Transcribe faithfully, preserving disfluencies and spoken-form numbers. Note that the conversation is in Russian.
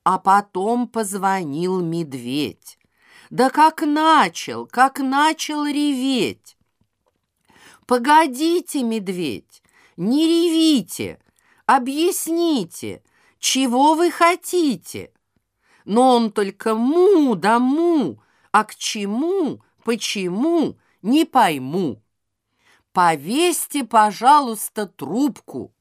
А потом позвонил медведь. Да как начал, как начал реветь. «Погодите, медведь, не ревите, объясните, чего вы хотите?» Но он только му да му, а к чему, почему, не пойму. «Повесьте, пожалуйста, трубку,